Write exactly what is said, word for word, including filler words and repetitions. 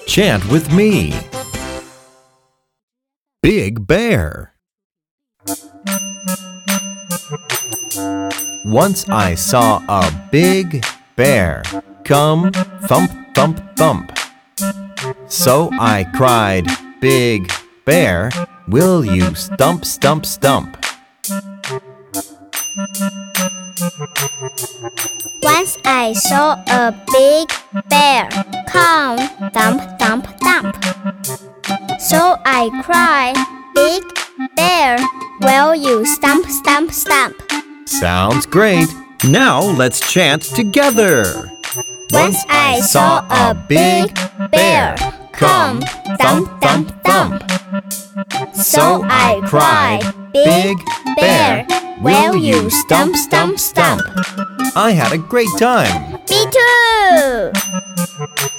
Chant with me. Big bear. Once I saw a big bear come thump, thump, thump. So I cried, Big bear, will you stump, stump, stump? Once I saw a big bear come thump, thump, thump. So I cried, Big bear, will you stump, stump, stump? Sounds great. Now let's chant together. Once I saw a big bear come thump, thump, thump. So I cried, Big bear, will you stump, stump, stump? I had a great time. Me too!